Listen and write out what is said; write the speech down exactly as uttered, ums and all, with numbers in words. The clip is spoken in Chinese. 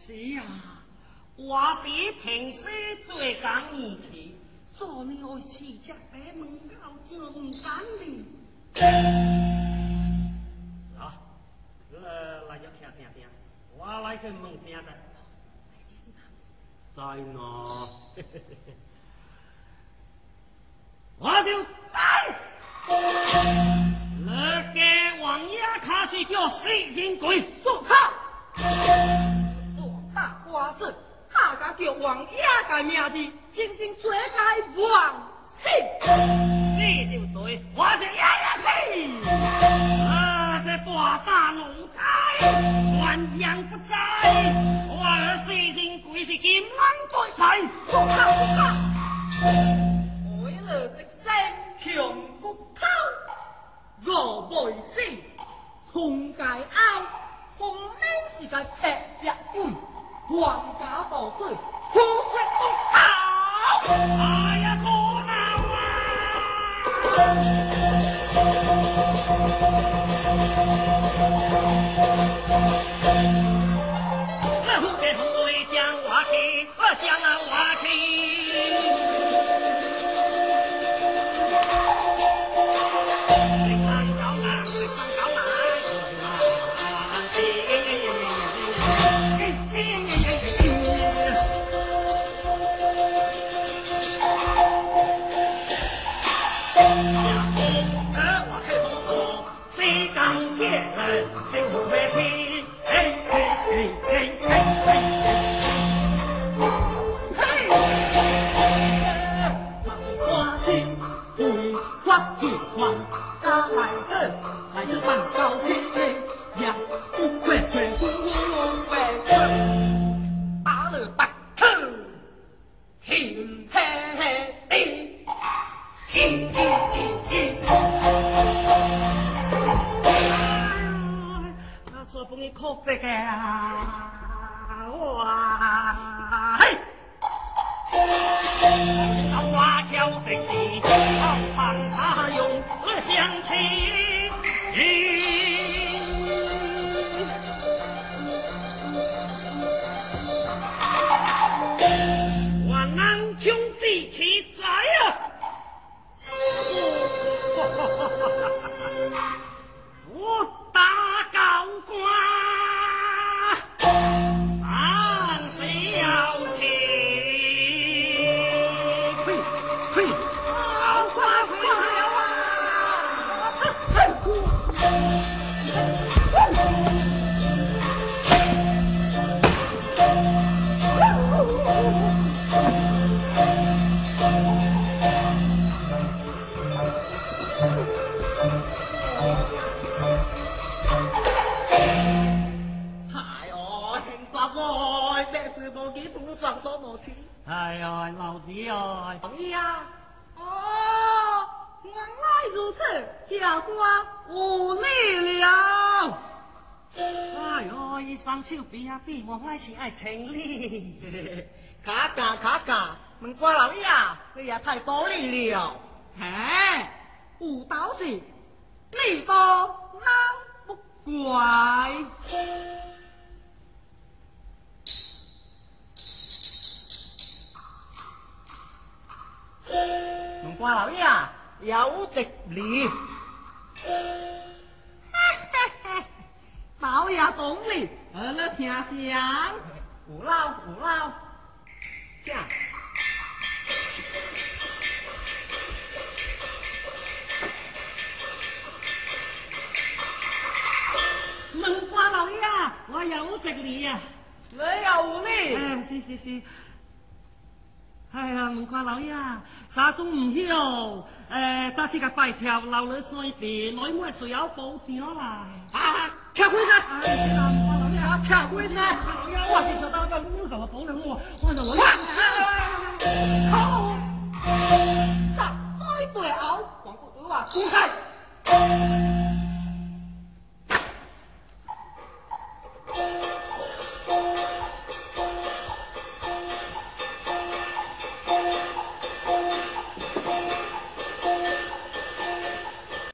是啊，我比平时最讲义气，做你爱饲只白门口就唔敢哩。啊，来来要听听听，我来去问听的。在呢，我就来。那个王爷卡是叫水人鬼，做他。 做大花子，大家叫王爷个名字，真正做该王姓。 你就对，我是爷爷呸！啊，这大大龙仔，乱养不在，我儿水人鬼是金狼对牌，做他做他。 为了这身穷骨头，我未死，从界后，分明是个赤只鬼，皇家盗水，虎血不逃。 哎呀，可闹啊！那虎给虎为将我去，我将啊我去。哎呀，老子啊！ 王爷啊！哦，原来如此，下官无礼了。 哎呦，伊双手比啊比，我还是爱请你。 卡卡卡卡，问官老爷，你也太多礼了。哎，有道是，礼多人不怪。问官老爷，有直礼。老爷懂礼，而了听响。有老有老，这样。 问官老爷，我有直礼呀。 你有礼？ 哎，是是是。哎呀，问官老爷，家中唔晓，诶，打起个拜条，留你水地，内妹随有保上来。啊，跳开噻！哎，是啦，问官老爷，跳开噻！我是想到要你同我保证我，我就来。 好，十岁对后，黄姑姑话，滚开！